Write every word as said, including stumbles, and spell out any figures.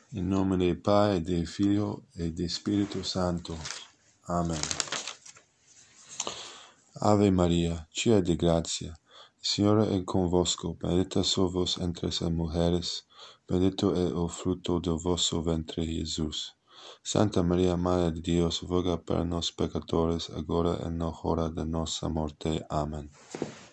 In nome del Padre, del Figlio e del Spirito Santo. Amen. Ave María, llena de gracia, el Señor es con vosotros, bendita sois vos entre las mujeres, bendito es el fruto de vuestro vientre Jesús. Santa María, Madre de Dios, ruega por nos pecadores, ahora y en la hora de nuestra muerte. Amén.